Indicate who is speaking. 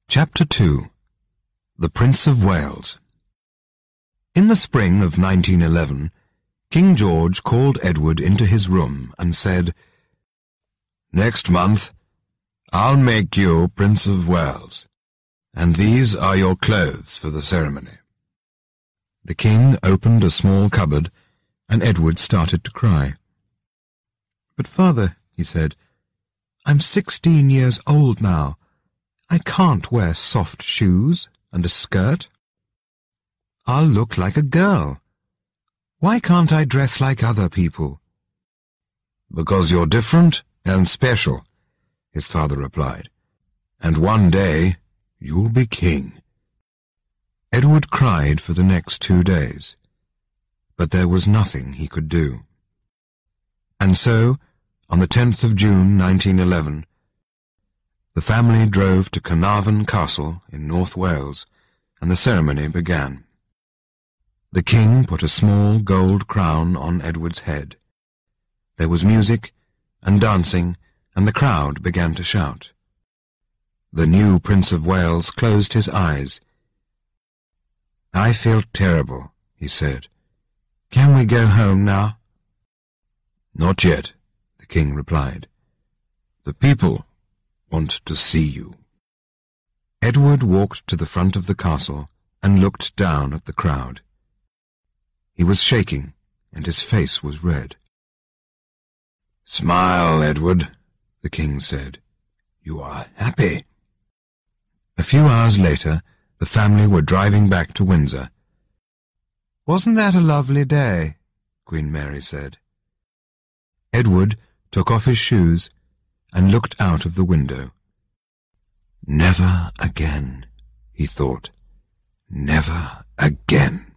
Speaker 1: Chapter 2. The Prince of Wales. In the spring of 1911, King George called Edward into his room and said, "Next month, I'll make you Prince of Wales, and these are your clothes for the ceremony." The king opened a small cupboard, and Edward started to cry. "But father," he said, "I'm 16 years old now. I can't wear soft shoes and a skirt. I'll look like a girl. Why can't I dress like other people?" "Because you're different and special," his father replied, "and one day you'll be king." Edward cried for the next 2 days, but there was nothing he could do. And so, on the 10th of June 1911, the family drove to Carnarvon Castle in North Wales, and the ceremony began. The king put a small gold crown on Edward's head. There was music and dancing, and the crowd began to shout. The new Prince of Wales closed his eyes. "I feel terrible," he said. "Can we go home now?" "Not yet," the king replied. "The people want to see you." Edward walked to the front of the castle and looked down at the crowd. He was shaking, and his face was red. "Smile, Edward," the king said. "You are happy." A few hours later, the family were driving back to Windsor. "Wasn't that a lovely day?" Queen Mary said. Edward took off his shoes and looked out of the window. "Never again," he thought. "Never again."